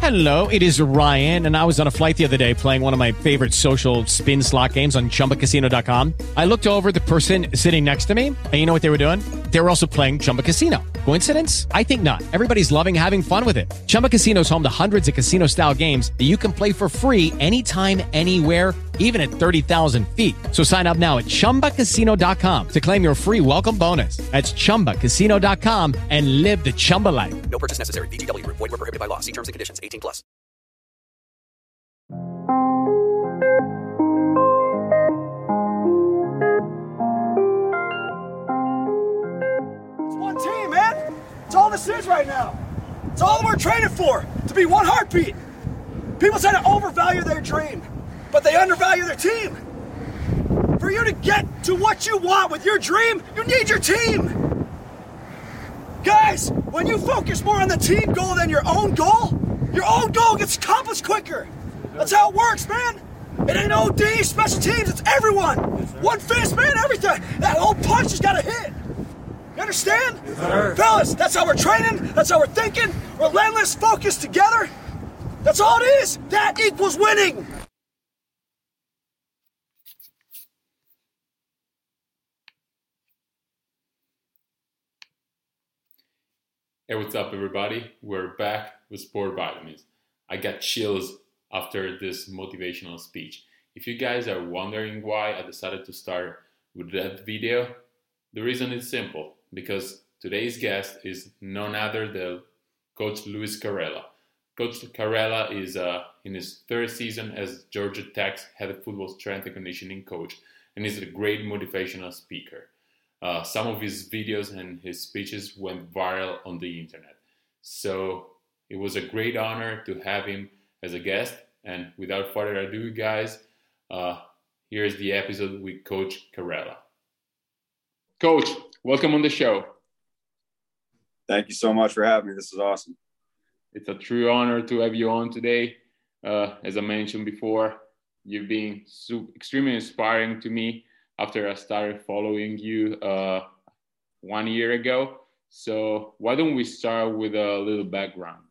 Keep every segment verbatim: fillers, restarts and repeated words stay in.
Hello, it is Ryan, and I was on a flight the other day playing one of my favorite social spin slot games on Chumba Casino dot com. I looked over at the person sitting next to me, and you know what they were doing? They were also playing Chumba Casino. Coincidence? I think not. Everybody's loving having fun with it. Chumba Casino is home to hundreds of casino-style games that you can play for free anytime, anywhere, even at thirty thousand feet. So sign up now at Chumba Casino dot com to claim your free welcome bonus. That's Chumba Casino dot com and live the Chumba life. No purchase necessary. V G W. Void where prohibited by law. See terms and conditions. eighteen plus. It's one team, man. It's all this is right now. It's all that we're training for, to be one heartbeat. People tend to overvalue their dream, but they undervalue their team. For you to get to what you want with your dream, you need your team. Guys, when you focus more on the team goal than your own goal, your own goal gets accomplished quicker. That's how it works, man. It ain't O D, special teams, it's everyone. One fist, man, everything. That whole punch has got to hit. You understand? Yes, fellas, that's how we're training, that's how we're thinking. Relentless focus together. That's all it is. That equals winning. Hey, what's up, everybody? We're back with Sport Vitamins. I got chills after this motivational speech. If you guys are wondering why I decided to start with that video, the reason is simple, because today's guest is none other than Coach Luis Carrella. Coach Carrella is uh, in his third season as Georgia Tech's head football strength and conditioning coach, and is a great motivational speaker. Uh, some of his videos and his speeches went viral on the internet. So it was a great honor to have him as a guest. And without further ado, guys, uh, here's the episode with Coach Carrella. Coach, welcome on the show. Thank you so much for having me. This is awesome. It's a true honor to have you on today. Uh, as I mentioned before, you've been so extremely inspiring to me after I started following you uh, one year ago. So why don't we start with a little background?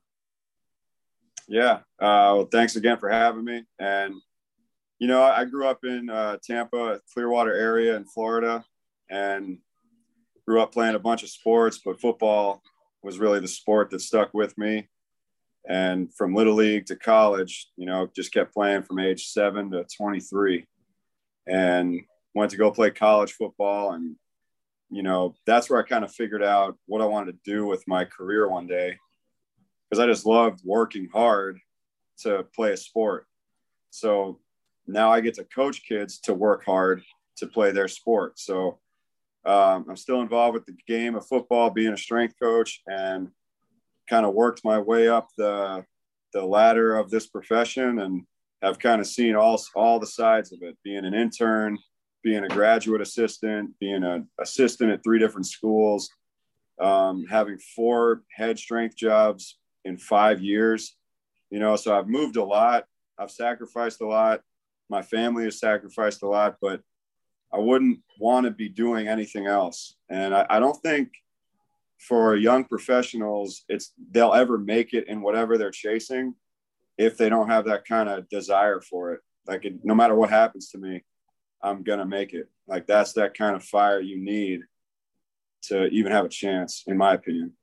Yeah. Uh, well, thanks again for having me. And, you know, I grew up in uh, Tampa, Clearwater area in Florida, and grew up playing a bunch of sports, but football was really the sport that stuck with me. And from Little League to college, you know, just kept playing from age seven to twenty-three. And went to go play college football. And, you know, that's where I kind of figured out what I wanted to do with my career one day, because I just loved working hard to play a sport. So now I get to coach kids to work hard to play their sport. So um, I'm still involved with the game of football, being a strength coach, and kind of worked my way up the the ladder of this profession, and have kind of seen all all the sides of it, being an intern, being a graduate assistant, being an assistant at three different schools, um, having four head strength jobs in five years. You know, so I've moved a lot. I've sacrificed a lot. My family has sacrificed a lot, but I wouldn't want to be doing anything else. And I, I don't think for young professionals, it's they'll ever make it in whatever they're chasing if they don't have that kind of desire for it. Like, it, no matter what happens to me, I'm going to make it. Like, that's that kind of fire you need to even have a chance, in my opinion.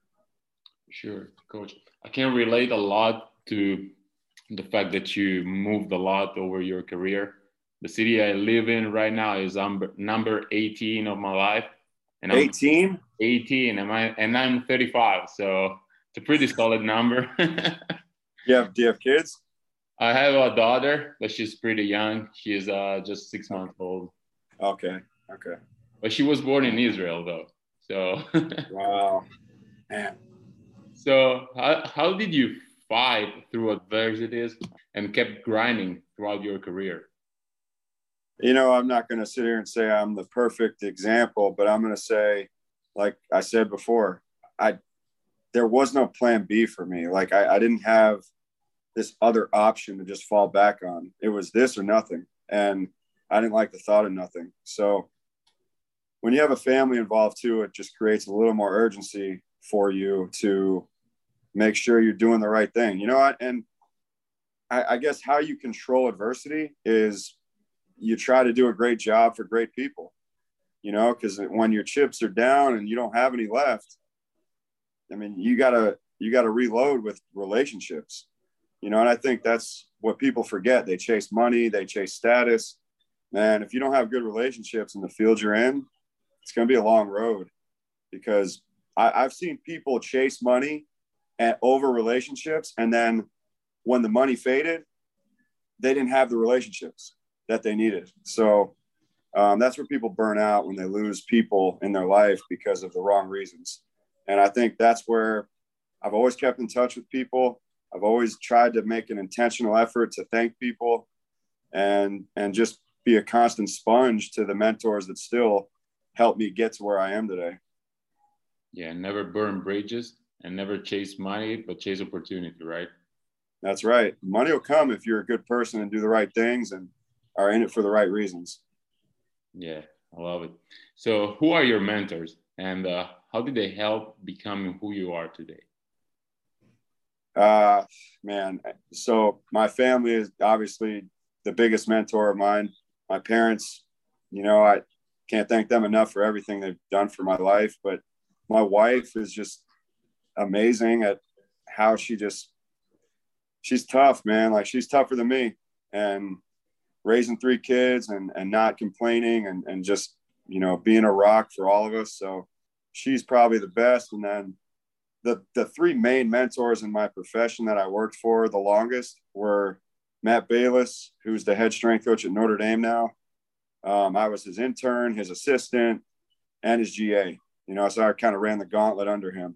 Sure, Coach. I can relate a lot to the fact that you moved a lot over your career. The city I live in right now is number, number eighteen of my life. And I'm eighteen? eighteen, and, I, and I'm thirty-five, so it's a pretty solid number. you have, do you have kids? I have a daughter, but she's pretty young. She's uh, just six months old. Okay, okay. But she was born in Israel, though. So. Wow, man. So how, how did you fight through adversities and kept grinding throughout your career? You know, I'm not going to sit here and say I'm the perfect example, but I'm going to say, like I said before, I there was no plan B for me. Like, I, I didn't have this other option to just fall back on. It was this or nothing. And I didn't like the thought of nothing. So when you have a family involved too, it just creates a little more urgency for you to make sure you're doing the right thing. You know what? And I, I guess how you control adversity is you try to do a great job for great people, you know, because when your chips are down and you don't have any left, I mean, you gotta, you gotta reload with relationships, you know, and I think that's what people forget. They chase money, they chase status. Man, if you don't have good relationships in the field you're in, it's going to be a long road, because I, I've seen people chase money and over relationships. And then when the money faded, they didn't have the relationships that they needed. So um, that's where people burn out, when they lose people in their life because of the wrong reasons. And I think that's where I've always kept in touch with people. I've always tried to make an intentional effort to thank people and, and just be a constant sponge to the mentors that still help me get to where I am today. Yeah, never burn bridges and never chase money, but chase opportunity, right? That's right. Money will come if you're a good person and do the right things and are in it for the right reasons. Yeah, I love it. So who are your mentors, and uh, how did they help becoming who you are today? Uh, man, so my family is obviously the biggest mentor of mine. My parents, you know, I can't thank them enough for everything they've done for my life. But my wife is just amazing at how she just, she's tough, man. Like, she's tougher than me, and raising three kids and, and not complaining and, and just, you know, being a rock for all of us. So she's probably the best. And then the, the three main mentors in my profession that I worked for the longest were Matt Bayless, who's the head strength coach at Notre Dame now. Um, I was his intern, his assistant, and his G A, you know, so I kind of ran the gauntlet under him.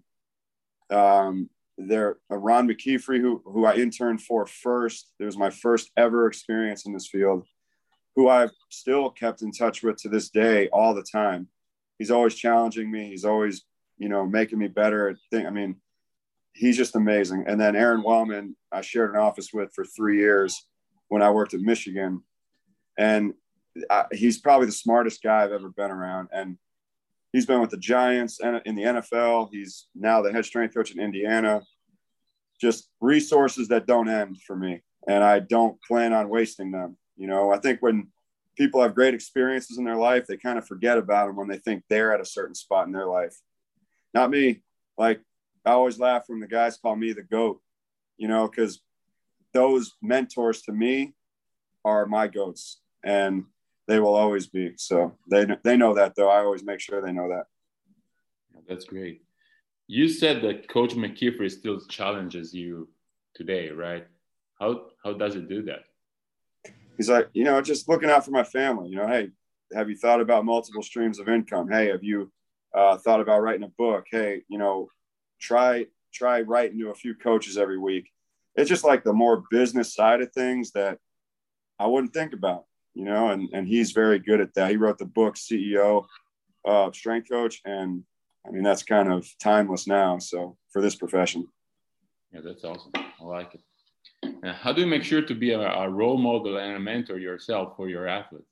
Um, there, uh, Ron McKeefrey, who, who I interned for first. It was my first ever experience in this field, who I've still kept in touch with to this day all the time. He's always challenging me. He's always, you know, making me better at things. I mean, he's just amazing. And then Aaron Wellman, I shared an office with for three years when I worked at Michigan. And I, he's probably the smartest guy I've ever been around. And he's been with the Giants and in the N F L. He's now the head strength coach in Indiana. Just resources that don't end for me. And I don't plan on wasting them. You know, I think when people have great experiences in their life, they kind of forget about them when they think they're at a certain spot in their life. Not me. Like, I always laugh when the guys call me the GOAT, you know, because those mentors to me are my GOATs, and they will always be. So they they know that, though. I always make sure they know that. That's great. You said that Coach McKeefrey still challenges you today, right? How how does it do that? He's like, you know, just looking out for my family. You know, hey, have you thought about multiple streams of income? Hey, have you uh, thought about writing a book? Hey, you know, try try writing to a few coaches every week. It's just like the more business side of things that I wouldn't think about, you know, and, and he's very good at that. He wrote the book C E O uh, Strength Coach, and I mean, that's kind of timeless now. So for this profession. Yeah, that's awesome. I like it. And how do you make sure to be a, a role model and a mentor yourself for your athletes?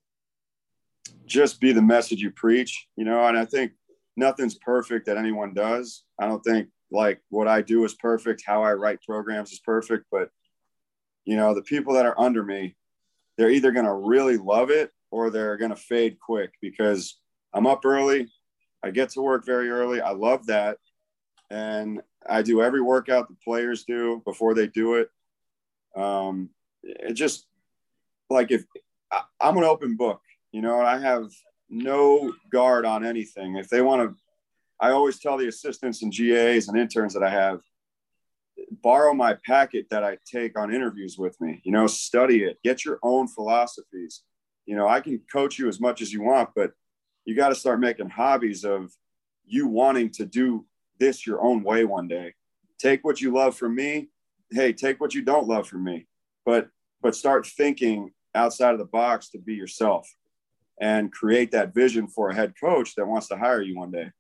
Just be the message you preach, you know, and I think nothing's perfect that anyone does. I don't think like what I do is perfect. How I write programs is perfect, but you know, the people that are under me, they're either going to really love it or they're going to fade quick, because I'm up early. I get to work very early. I love that. And I do every workout the players do before they do it. Um, it just like, if I, I'm an open book, you know, and I have no guard on anything. If they want to, I always tell the assistants and G As and interns that I have, borrow my packet that I take on interviews with me, you know, study it, get your own philosophies. You know, I can coach you as much as you want, but you got to start making hobbies of you wanting to do this your own way one day. Take what you love from me. Hey, take what you don't love from me, but, but start thinking outside of the box to be yourself and create that vision for a head coach that wants to hire you one day.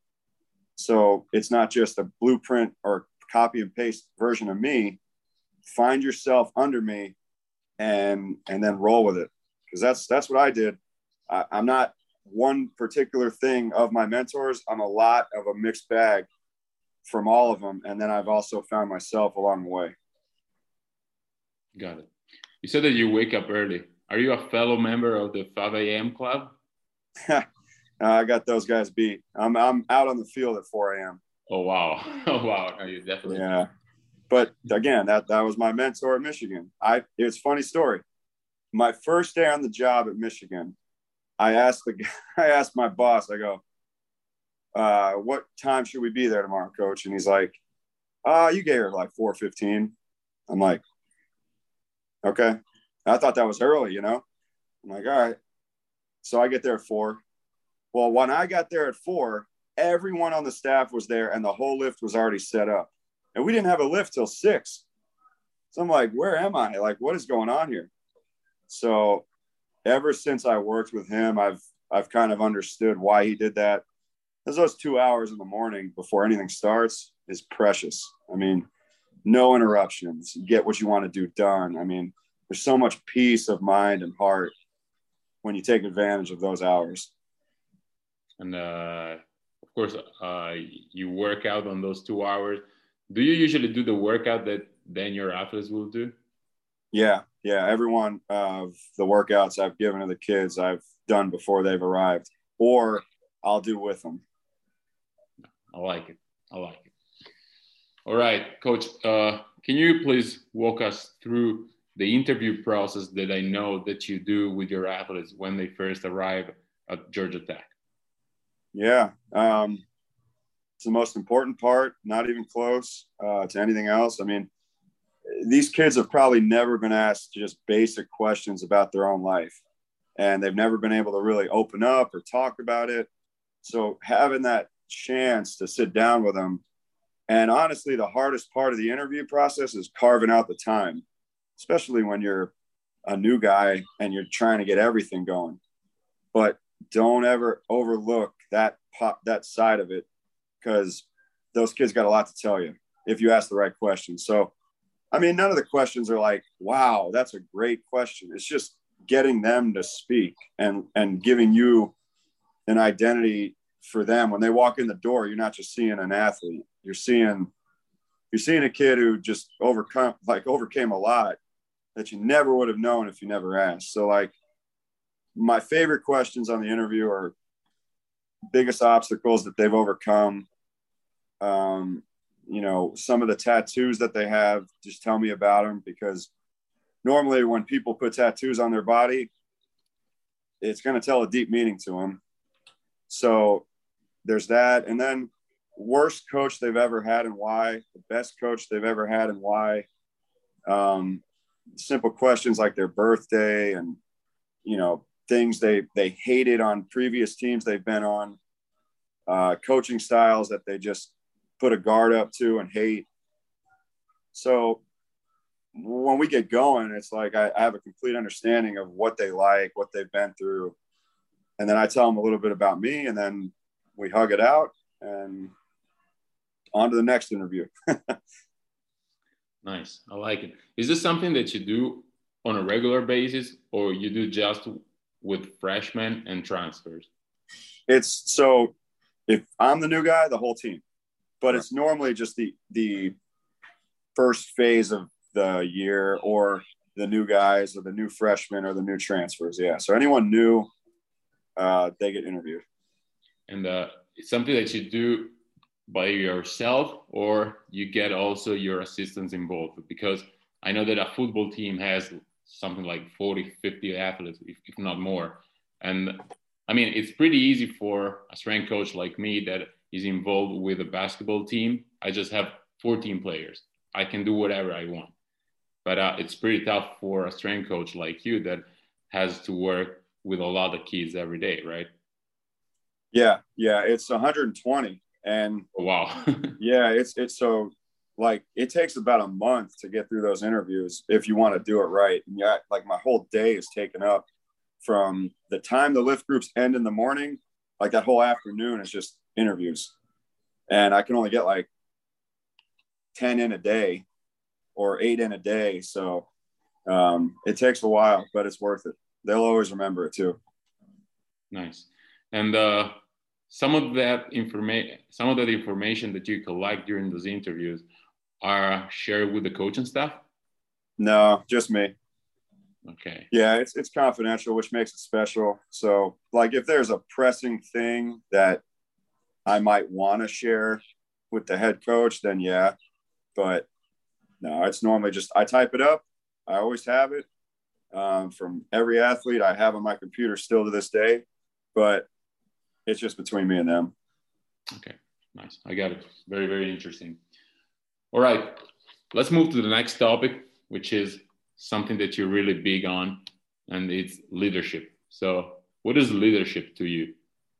So it's not just a blueprint or copy and paste version of me. Find yourself under me and, and then roll with it. Cause that's, that's what I did. I, I'm not one particular thing of my mentors. I'm a lot of a mixed bag. from all of them. And then I've also found myself along the way. Got it. You said that you wake up early. Are you a fellow member of the five a.m. club? I got those guys beat. I'm I'm out on the field at four a.m. Oh, wow. Oh, wow. No, you definitely. Yeah. But again, that, that was my mentor at Michigan. I, it's a funny story. My first day on the job at Michigan, I asked the I asked my boss, I go, uh, what time should we be there tomorrow, coach? And he's like, uh, you get here like four fifteen. I'm like, okay. I thought that was early, you know? I'm like, all right. So I get there at four. Well, when I got there at four, everyone on the staff was there and the whole lift was already set up. And we didn't have a lift till six. So I'm like, where am I? Like, what is going on here? So ever since I worked with him, I've I've kind of understood why he did that. Because those two hours in the morning before anything starts is precious. I mean, no interruptions. You get what you want to do done. I mean, there's so much peace of mind and heart when you take advantage of those hours. And uh, of course, uh, you work out on those two hours. Do you usually do the workout that then your athletes will do? Yeah, yeah. Every one of the workouts I've given to the kids, I've done before they've arrived, or I'll do with them. I like it. I like it. All right, Coach, uh, can you please walk us through the interview process that I know that you do with your athletes when they first arrive at Georgia Tech? Yeah. Um, it's the most important part, not even close uh, to anything else. I mean, these kids have probably never been asked just basic questions about their own life, and they've never been able to really open up or talk about it. So having that chance to sit down with them, and honestly, the hardest part of the interview process is carving out the time, especially when you're a new guy and you're trying to get everything going. But don't ever overlook that pop, that side of it, because those kids got a lot to tell you if you ask the right questions. So, I mean, none of the questions are like, wow, that's a great question. It's just getting them to speak and, and giving you an identity for them. When they walk in the door, you're not just seeing an athlete. You're seeing, you're seeing a kid who just overcome, like overcame a lot that you never would have known if you never asked. So like, my favorite questions on the interview are biggest obstacles that they've overcome. Um, you know, some of the tattoos that they have, just tell me about them, because normally when people put tattoos on their body, it's going to tell a deep meaning to them. So there's that. And then worst coach they've ever had and why, the best coach they've ever had and why. Um, simple questions like their birthday and, you know, things they, they hated on previous teams they've been on, uh, coaching styles that they just put a guard up to and hate. So when we get going, it's like I, I have a complete understanding of what they like, what they've been through. And then I tell them a little bit about me, and then we hug it out and on to the next interview. Nice. I like it. Is this something that you do on a regular basis, or you do just with freshmen and transfers? It's so if I'm the new guy, the whole team, but it's normally just the, the first phase of the year, or the new guys or the new freshmen or the new transfers. Yeah. So anyone new, uh, they get interviewed. And uh, it's something that you do by yourself, or you get also your assistants involved? Because I know that a football team has something like forty, fifty athletes, if, if not more. And I mean, it's pretty easy for a strength coach like me that is involved with a basketball team. I just have fourteen players. I can do whatever I want. But uh, it's pretty tough for a strength coach like you that has to work with a lot of kids every day, right? Yeah, yeah, it's one hundred twenty. And oh, wow. yeah, it's it's so like it takes about a month to get through those interviews if you want to do it right. And yeah, like my whole day is taken up from the time the lift groups end in the morning, like that whole afternoon is just interviews. And I can only get like ten in a day or eight in a day. So um, it takes a while, but it's worth it. They'll always remember it too. Nice. And uh, some of that information, some of that information that you collect during those interviews are shared with the coaching staff? No, just me. Okay. Yeah, it's it's confidential, which makes it special. So, like, if there's a pressing thing that I might want to share with the head coach, then yeah. But no, it's normally just I type it up. I always have it um, from every athlete I have on my computer still to this day. But it's just between me and them. Okay, nice. I got it. Very, very interesting. All right, let's move to the next topic, which is something that you're really big on, and it's leadership. So what is leadership to you?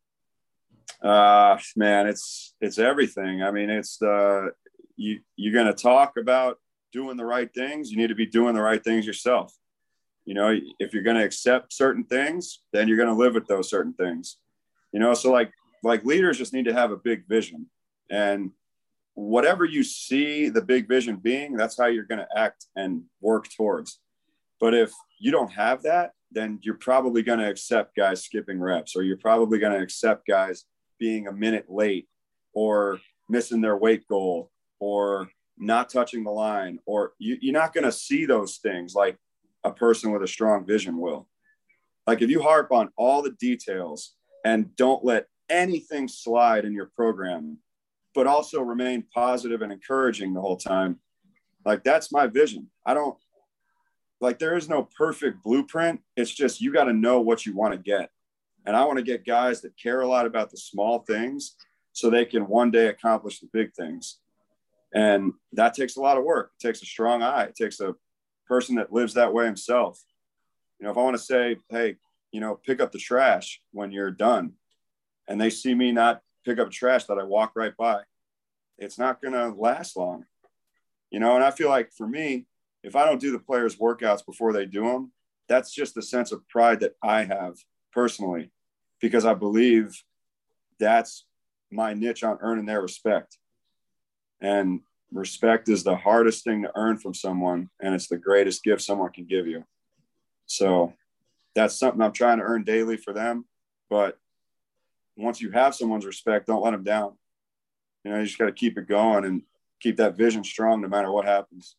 Uh, man, it's, it's everything. I mean, it's the, you, you're going to talk about doing the right things. You need to be doing the right things yourself. You know, if you're going to accept certain things, then you're going to live with those certain things, you know? So like, like leaders just need to have a big vision, and whatever you see the big vision being, that's how you're going to act and work towards. But if you don't have that, then you're probably going to accept guys skipping reps, or you're probably going to accept guys being a minute late, or missing their weight goal, or not touching the line, or you, you're not going to see those things like a person with a strong vision will. Like if you harp on all the details and don't let anything slide in your program, but also remain positive and encouraging the whole time. Like that's my vision. I don't like, there is no perfect blueprint. It's just, you got to know what you want to get. And I want to get guys that care a lot about the small things so they can one day accomplish the big things. And that takes a lot of work. It takes a strong eye. It takes a person that lives that way himself. You know, if I want to say, hey, you know, pick up the trash when you're done, and they see me not pick up trash that I walk right by, it's not going to last long, you know? And I feel like for me, if I don't do the players' workouts before they do them, that's just the sense of pride that I have personally, because I believe that's my niche on earning their respect. And respect is the hardest thing to earn from someone, and it's the greatest gift someone can give you. So that's something I'm trying to earn daily for them. But once you have someone's respect, don't let them down. You know, you just got to keep it going and keep that vision strong no matter what happens.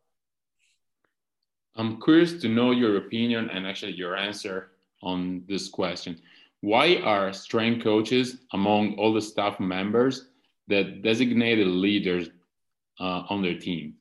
I'm curious to know your opinion and actually your answer on this question. Why are strength coaches among all the staff members the designated leaders uh, on their team?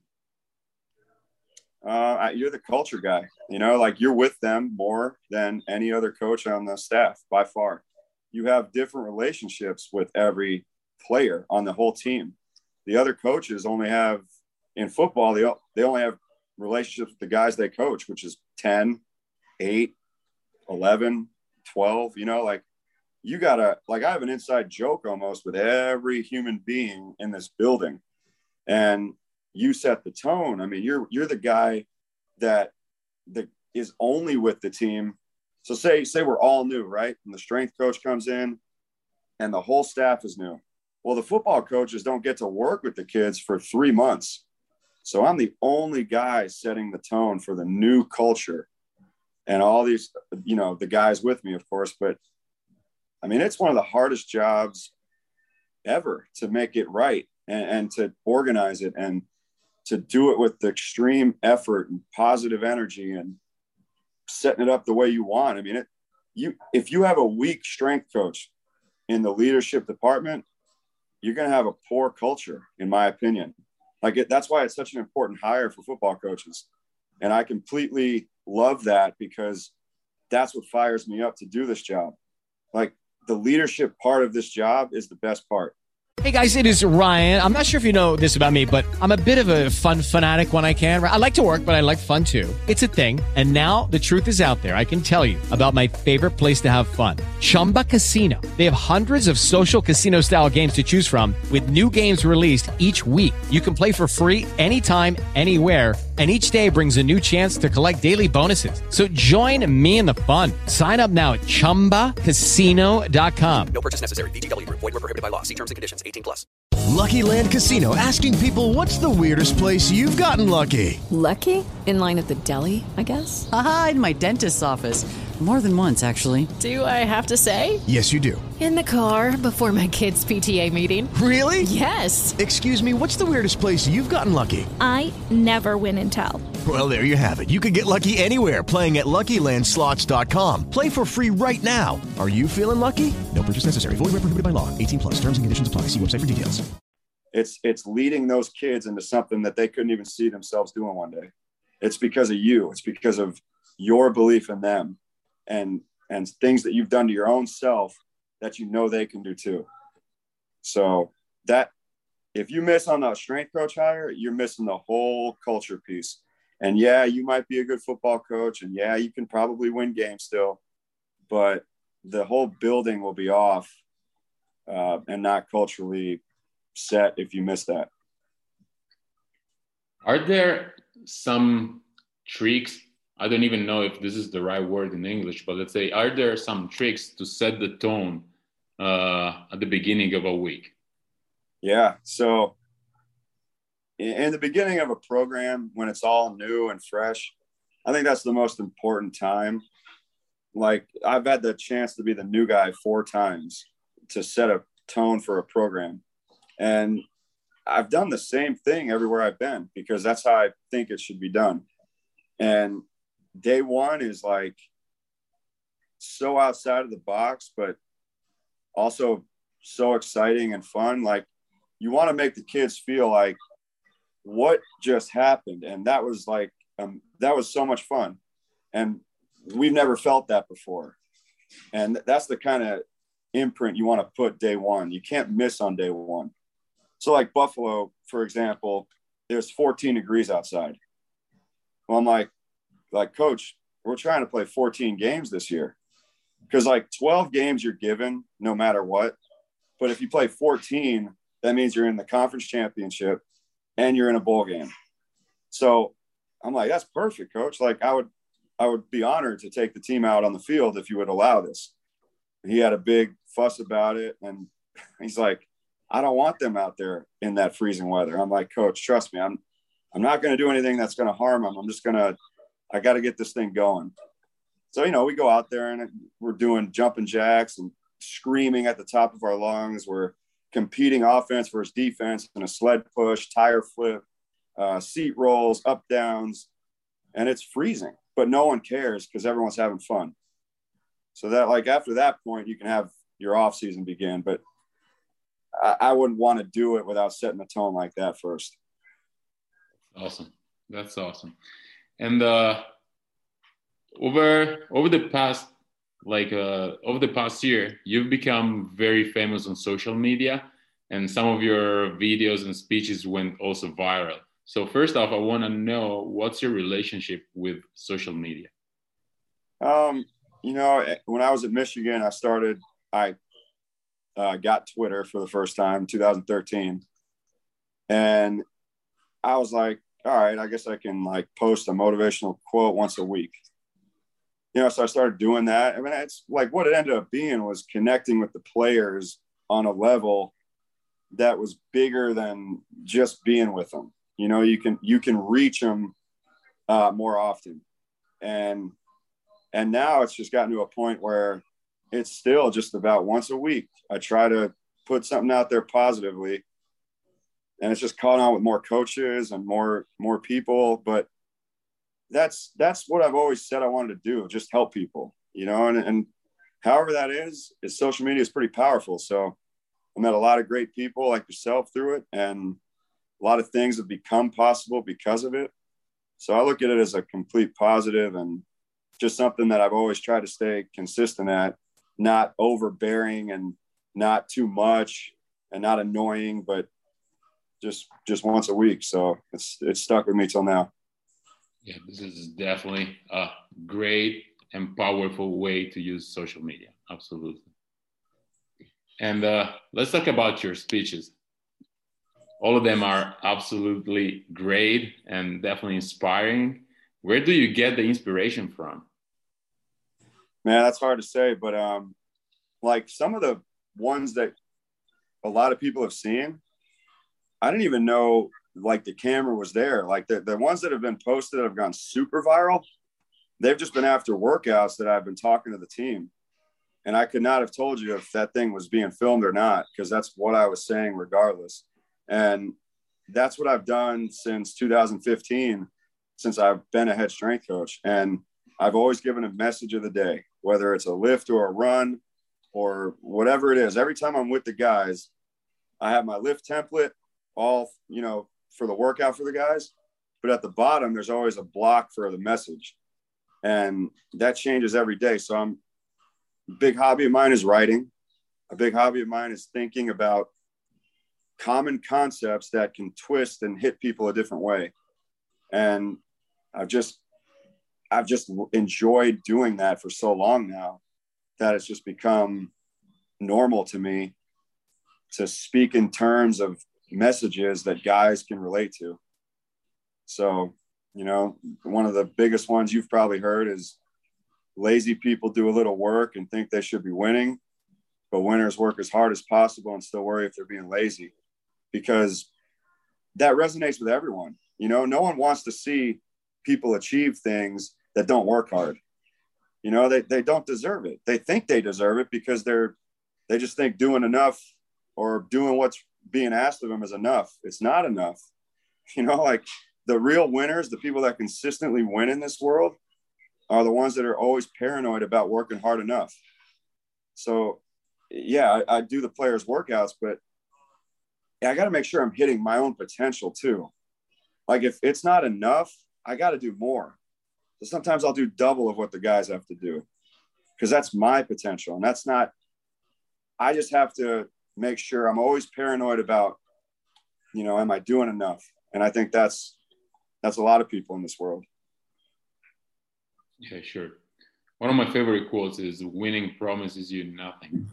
Uh, you're the culture guy, you know, like you're with them more than any other coach on the staff by far. You have different relationships with every player on the whole team. The other coaches only have, in football, they, they only have relationships with the guys they coach, which is ten, eight, eleven, twelve, you know, like you gotta, like I have an inside joke almost with every human being in this building, and you set the tone. I mean, you're, you're the guy that, that is only with the team. So say, say we're all new, right? And the strength coach comes in and the whole staff is new. Well, the football coaches don't get to work with the kids for three months. So I'm the only guy setting the tone for the new culture, and all these, you know, the guys with me, of course. But I mean, it's one of the hardest jobs ever to make it right, and, and to organize it, and to do it with the extreme effort and positive energy and setting it up the way you want. I mean, it, you, if you have a weak strength coach in the leadership department, you're going to have a poor culture, in my opinion. Like it, that's why it's such an important hire for football coaches. And I completely love that, because that's what fires me up to do this job. Like the leadership part of this job is the best part. Hey guys, it is Ryan. I'm not sure if you know this about me, but I'm a bit of a fun fanatic when I can. I like to work, but I like fun too. It's a thing. And now the truth is out there. I can tell you about my favorite place to have fun. Chumba Casino. They have hundreds of social casino style games to choose from, with new games released each week. You can play for free anytime, anywhere. And each day brings a new chance to collect daily bonuses. So join me in the fun. Sign up now at chumba casino dot com. No purchase necessary. V G W Group. Void where prohibited by law. See terms and conditions. eighteen plus. Lucky Land Casino, asking people, what's the weirdest place you've gotten lucky? Lucky? In line at the deli, I guess? Aha, in my dentist's office. More than once, actually. Do I have to say? Yes, you do. In the car before my kids' P T A meeting. Really? Yes. Excuse me, what's the weirdest place you've gotten lucky? I never win and tell. Well, there you have it. You can get lucky anywhere, playing at Lucky Land Slots dot com. Play for free right now. Are you feeling lucky? No purchase necessary. Void where prohibited by law. eighteen plus. Terms and conditions apply. See website for details. It's it's leading those kids into something that they couldn't even see themselves doing one day. It's because of you. It's because of your belief in them and and things that you've done to your own self that you know they can do too. So that if you miss on the strength coach hire, you're missing the whole culture piece. And yeah, you might be a good football coach, and yeah, you can probably win games still, but the whole building will be off uh, and not culturally set if you miss that. Are there some tricks? I don't even know if this is the right word in English, but let's say, are there some tricks to set the tone uh, at the beginning of a week? Yeah. So in the beginning of a program, when it's all new and fresh, I think that's the most important time. Like, I've had the chance to be the new guy four times to set a tone for a program. And I've done the same thing everywhere I've been because that's how I think it should be done. And day one is like so outside of the box, but also so exciting and fun. Like, you want to make the kids feel like what just happened. And that was like, um, that was so much fun. And we've never felt that before. And that's the kind of imprint you want to put day one. You can't miss on day one. So like Buffalo, for example, there's fourteen degrees outside. Well, I'm like, like, coach, we're trying to play fourteen games this year. Because like twelve games you're given no matter what. But if you play fourteen, that means you're in the conference championship and you're in a bowl game. So I'm like, that's perfect, coach. Like, I would, I would be honored to take the team out on the field if you would allow this. He had a big fuss about it. And he's like, I don't want them out there in that freezing weather. I'm like, coach, trust me, I'm, I'm not going to do anything that's going to harm them. I'm just going to, I got to get this thing going. So, you know, we go out there and we're doing jumping jacks and screaming at the top of our lungs. We're competing offense versus defense in a sled push, tire flip, uh, seat rolls, up downs, and it's freezing, but no one cares because everyone's having fun. So that, like, after that point, you can have your off season begin, but I, I wouldn't want to do it without setting the tone like that first. Awesome. That's awesome. And uh, over over the past like uh, over the past year, you've become very famous on social media, and some of your videos and speeches went also viral. So first off, I want to know, what's your relationship with social media? Um, you know, when I was at Michigan, I started, I uh, got Twitter for the first time in two thousand thirteen. And I was like, all right, I guess I can like post a motivational quote once a week. You know, so I started doing that. I mean, it's like what it ended up being was connecting with the players on a level that was bigger than just being with them. You know, you can, you can reach them uh, more often. And, and now it's just gotten to a point where it's still just about once a week. I try to put something out there positively, and it's just caught on with more coaches and more, more people. But that's, that's what I've always said I wanted to do, just help people, you know, and, and however that is, is social media is pretty powerful. So I met a lot of great people like yourself through it, and a lot of things have become possible because of it. So I look at it as a complete positive and just something that I've always tried to stay consistent at, not overbearing and not too much and not annoying, but just, just once a week. So it's, it's stuck with me till now. Yeah, this is definitely a great and powerful way to use social media. Absolutely. And uh, let's talk about your speeches. All of them are absolutely great and definitely inspiring. Where do you get the inspiration from? Man, that's hard to say, but um, like some of the ones that a lot of people have seen, I didn't even know like the camera was there. Like the, the ones that have been posted that have gone super viral, they've just been after workouts that I've been talking to the team. And I could not have told you if that thing was being filmed or not, because that's what I was saying regardless. And that's what I've done since two thousand fifteen, since I've been a head strength coach. And I've always given a message of the day, whether it's a lift or a run or whatever it is. Every time I'm with the guys, I have my lift template, all, you know, for the workout for the guys. But at the bottom, there's always a block for the message. And that changes every day. So I'm, a big hobby of mine is writing. A big hobby of mine is thinking about common concepts that can twist and hit people a different way. And I've just, I've just enjoyed doing that for so long now that it's just become normal to me to speak in terms of messages that guys can relate to. So, you know, one of the biggest ones you've probably heard is lazy people do a little work and think they should be winning, but winners work as hard as possible and still worry if they're being lazy, because that resonates with everyone. You know, no one wants to see people achieve things that don't work hard. You know, they, they don't deserve it. They think they deserve it because they're, they just think doing enough or doing what's being asked of them is enough. It's not enough. You know, like the real winners, the people that consistently win in this world, are the ones that are always paranoid about working hard enough. So, yeah, I, I do the players' workouts, but yeah, I got to make sure I'm hitting my own potential too. Like if it's not enough, I got to do more. So sometimes I'll do double of what the guys have to do because that's my potential. And that's not, I just have to make sure I'm always paranoid about, you know, am I doing enough? And I think that's, that's a lot of people in this world. Yeah, sure. One of my favorite quotes is winning promises you nothing.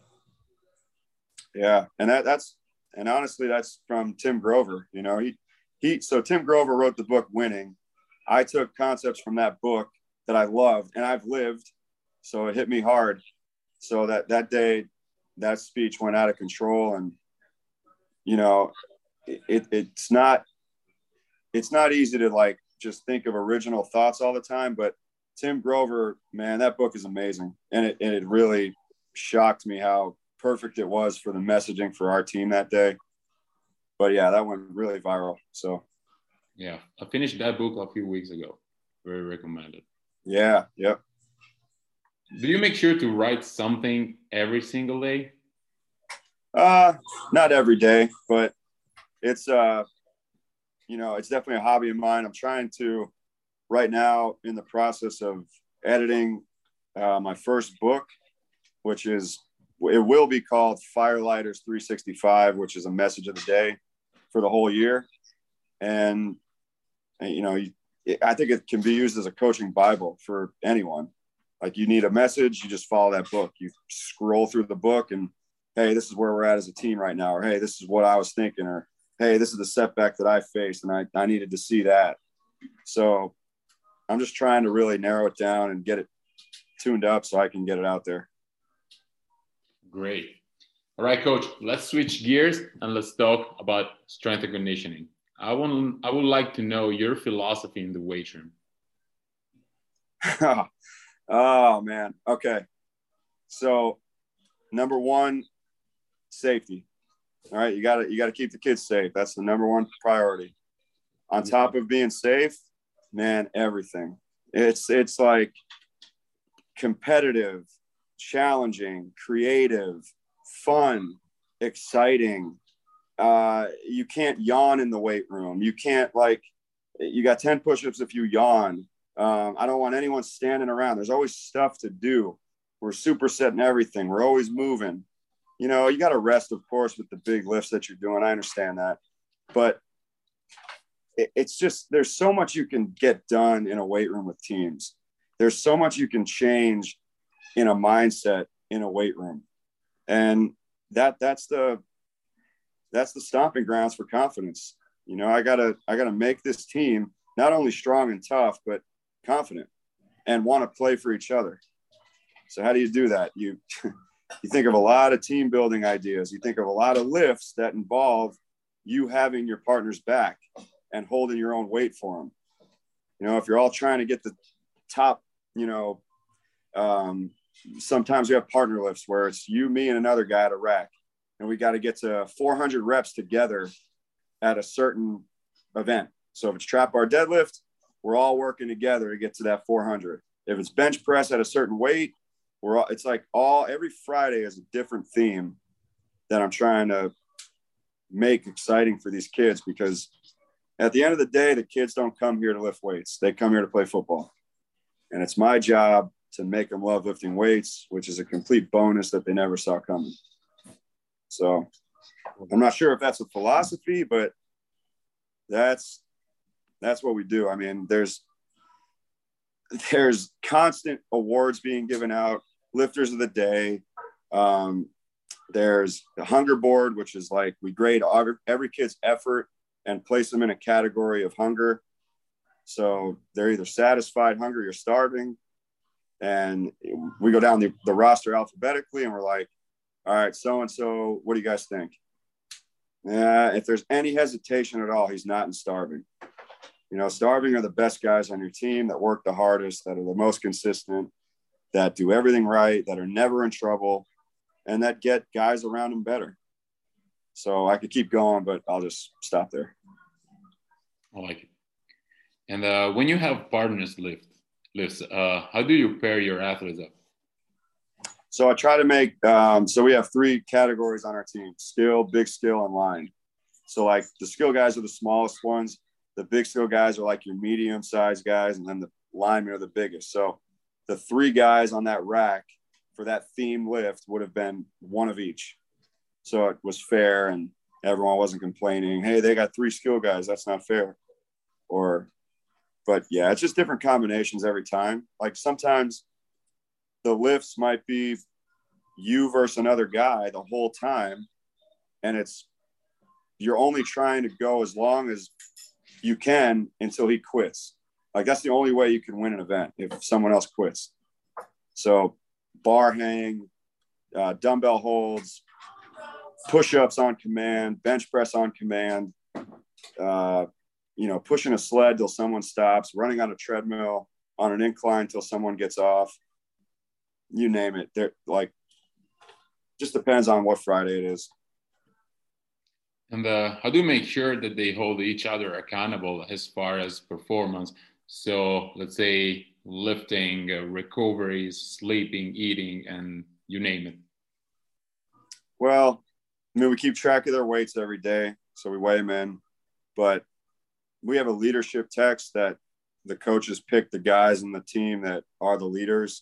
Yeah. And that, that's, and honestly, that's from Tim Grover. You know, he, he, so Tim Grover wrote the book Winning. I took concepts from that book that I loved and I've lived. So it hit me hard. So that, that day, that speech went out of control. And, you know, it, it's not, it's not easy to like, just think of original thoughts all the time, but Tim Grover, man, that book is amazing. And it, and it really shocked me how perfect it was for the messaging for our team that day. But yeah, that went really viral. So yeah, I finished that book a few weeks ago. Very recommended. Yeah. Yep. Do you make sure to write something every single day? Uh, not every day, but it's, uh, you know, it's definitely a hobby of mine. I'm trying to, right now, in the process of editing uh, my first book, which is, it will be called Firelighters three sixty-five, which is a message of the day for the whole year. And, you know, I think it can be used as a coaching Bible for anyone. Like you need a message, you just follow that book. You scroll through the book and, hey, this is where we're at as a team right now. Or, hey, this is what I was thinking. Or, hey, this is the setback that I faced and I, I needed to see that. So I'm just trying to really narrow it down and get it tuned up so I can get it out there. Great. All right, coach, let's switch gears and let's talk about strength and conditioning. I want, I would like to know your philosophy in the weight room. Oh, man. Okay. So number one, safety. All right. You gotta, you gotta keep the kids safe. That's the number one priority. On top of being safe, man, everything. It's, it's like competitive, challenging, creative, fun, exciting. Uh, you can't yawn in the weight room. You can't like, you got ten push-ups if you yawn. Um, I don't want anyone standing around. There's always stuff to do. We're supersetting everything. We're always moving. You know, you got to rest, of course, with the big lifts that you're doing. I understand that. But it, it's just, there's so much you can get done in a weight room with teams. There's so much you can change in a mindset in a weight room. And that that's the that's the stomping grounds for confidence. You know, I gotta I gotta make this team not only strong and tough, but confident and want to play for each other. So how do you do that? You you think of a lot of team building ideas. You think of a lot of lifts that involve you having your partner's back and holding your own weight for them. You know, if you're all trying to get the top, you know, um, sometimes we have partner lifts where it's you, me, and another guy at a rack, and we got to get to four hundred reps together at a certain event. So if it's trap bar deadlift, we're all working together to get to that four hundred. If it's bench press at a certain weight, we're all, it's like all, every Friday is a different theme that I'm trying to make exciting for these kids, because at the end of the day, the kids don't come here to lift weights. They come here to play football. And it's my job to make them love lifting weights, which is a complete bonus that they never saw coming. So I'm not sure if that's a philosophy, but that's, that's what we do. I mean, there's, there's constant awards being given out, lifters of the day. Um, there's the hunger board, which is like, we grade every, every kid's effort and place them in a category of hunger. So they're either satisfied, hungry, or starving. And we go down the, the roster alphabetically, and we're like, all right, so-and-so, what do you guys think? Uh, if there's any hesitation at all, he's not in starving. You know, starving are the best guys on your team that work the hardest, that are the most consistent, that do everything right, that are never in trouble, and that get guys around them better. So I could keep going, but I'll just stop there. I like it. And uh, when you have partners lift lifts, uh, how do you pair your athletes up? So I try to make, um, so we have three categories on our team: skill, big skill, and line. So like the skill guys are the smallest ones. The big skill guys are like your medium sized guys. And then the linemen are the biggest. So the three guys on that rack for that theme lift would have been one of each. So it was fair, and everyone wasn't complaining, hey, they got three skill guys, that's not fair. Or, but yeah, it's just different combinations every time. Like sometimes the lifts might be you versus another guy the whole time, and it's, you're only trying to go as long as you can until he quits. Like that's the only way you can win an event, if someone else quits. So bar hang, uh, dumbbell holds, push-ups on command, bench press on command, uh, you know, pushing a sled till someone stops, running on a treadmill on an incline till someone gets off. You name it. They're like, just depends on what Friday it is. And uh, how do you make sure that they hold each other accountable as far as performance? So let's say lifting, uh, recovery, sleeping, eating, and you name it. Well, I mean, we keep track of their weights every day, so we weigh them in. But we have a leadership text that the coaches pick the guys in the team that are the leaders.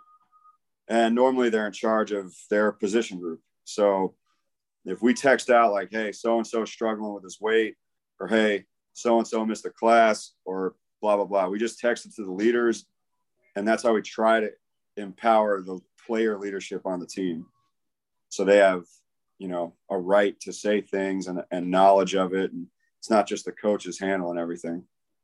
And normally they're in charge of their position group. So if we text out like, hey, so-and-so is struggling with his weight, or hey, so-and-so missed a class, or blah, blah, blah, we just text it to the leaders. And that's how we try to empower the player leadership on the team. So they have, you know, a right to say things and, and knowledge of it. And it's not just the coaches handling everything.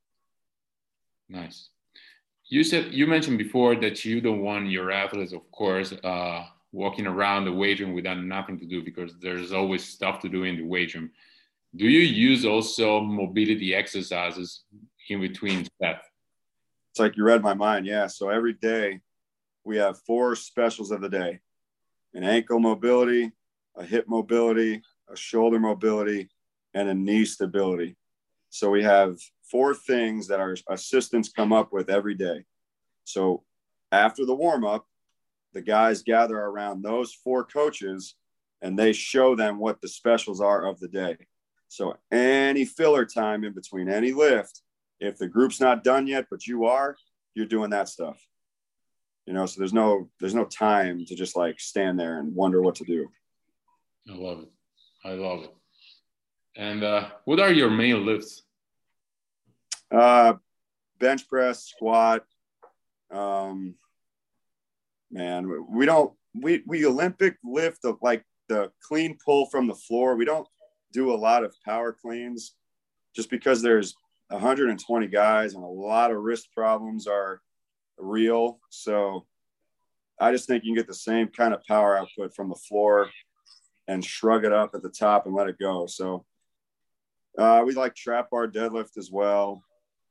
Nice. You said, you mentioned before that you don't want your athletes, of course, uh, walking around the weight room without nothing to do, because there's always stuff to do in the weight room. Do you use also mobility exercises in between sets? It's like you read my mind. Yeah. So every day we have four specials of the day: an ankle mobility, a hip mobility, a shoulder mobility, and a knee stability. So we have four things that our assistants come up with every day. So after the warm-up, the guys gather around those four coaches and they show them what the specials are of the day. So any filler time in between any lift, if the group's not done yet, but you are, you're doing that stuff. You know, so there's no, there's no time to just like stand there and wonder what to do. I love it. I love it. And uh, what are your main lifts? Uh, bench press, squat. Um, man, we don't, we, we Olympic lift the, like the clean pull from the floor. We don't do a lot of power cleans just because there's one hundred twenty guys and a lot of wrist problems are real. So I just think you can get the same kind of power output from the floor and shrug it up at the top and let it go. So Uh, we like trap bar deadlift as well.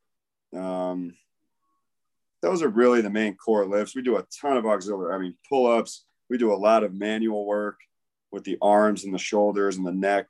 Um, those are really the main core lifts. We do a ton of auxiliary, I mean, pull-ups. We do a lot of manual work with the arms and the shoulders and the neck.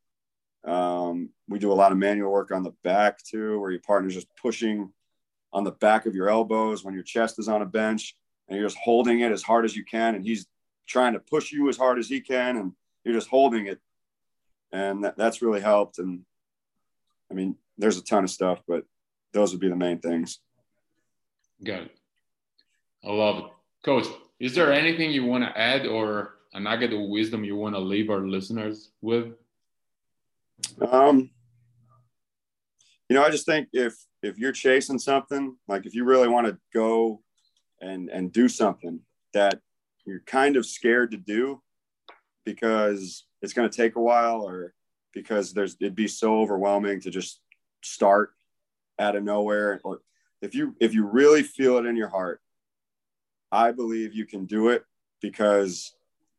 Um, we do a lot of manual work on the back too, where your partner's just pushing on the back of your elbows when your chest is on a bench and you're just holding it as hard as you can. And he's trying to push you as hard as he can. And you're just holding it. And that, that's really helped. And I mean, there's a ton of stuff, but those would be the main things. Got it. I love it. Coach, is there anything you want to add or a nugget of wisdom you want to leave our listeners with? Um, you know, I just think if, if you're chasing something, like if you really want to go and, and do something that you're kind of scared to do because it's going to take a while or because there's, it'd be so overwhelming to just start out of nowhere. Or if you, if you really feel it in your heart, I believe you can do it, because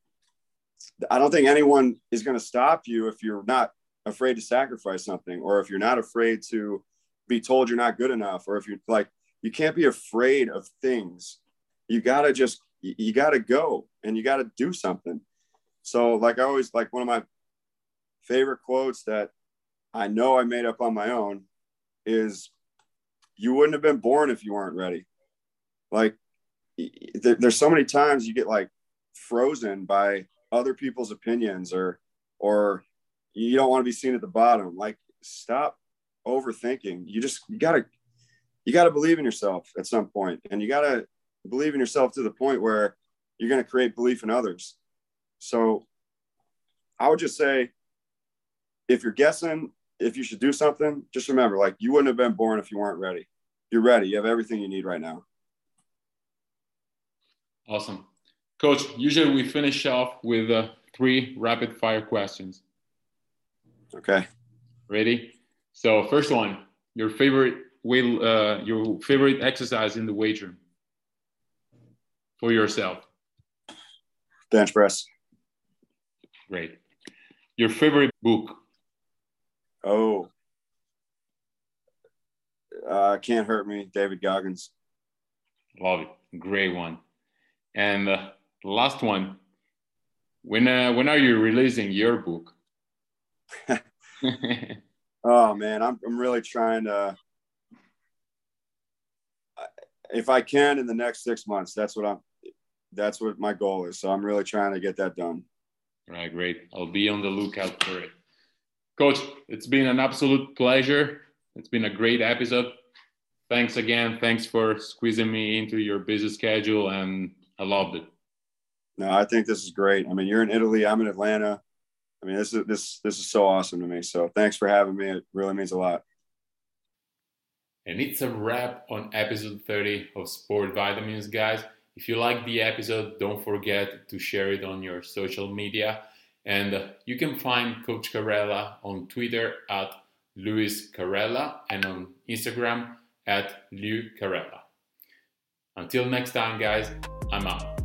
I don't think anyone is going to stop you if you're not afraid to sacrifice something, or if you're not afraid to be told you're not good enough, or if you're like, you can't be afraid of things. You got to just, you got to go and you got to do something. So like I always, like one of my favorite quotes that I know I made up on my own is, you wouldn't have been born if you weren't ready. Like there, there's so many times you get like frozen by other people's opinions, or, or you don't want to be seen at the bottom. Like, stop overthinking. You just, you gotta, you gotta believe in yourself at some point, and you gotta believe in yourself to the point where you're going to create belief in others. So I would just say, if you're guessing if you should do something, just remember, like, you wouldn't have been born if you weren't ready. You're ready. You have everything you need right now. Awesome. Coach, usually we finish off with uh, three rapid fire questions. Okay. Ready? So first one, your favorite weight, uh, your favorite exercise in the weight room for yourself? Bench press. Great. Your favorite book? Oh, uh, Can't Hurt Me, David Goggins. Love it. Great one. And uh, the last one, when uh, when are you releasing your book? Oh man, I'm I'm really trying to. If I can, in the next six months, that's what I'm. That's what my goal is. So I'm really trying to get that done. All right, great. I'll be on the lookout for it. Coach, it's been an absolute pleasure. It's been a great episode. Thanks again. Thanks for squeezing me into your busy schedule, and I loved it. No, I think this is great. I mean, you're in Italy. I'm in Atlanta. I mean, this is this this is so awesome to me. So thanks for having me. It really means a lot. And it's a wrap on episode thirty of Sport Vitamins, guys. If you like the episode, don't forget to share it on your social media. And uh, you can find Coach Carella on Twitter at Luis Carella and on Instagram at Lou Carella. Until next time, guys, I'm out.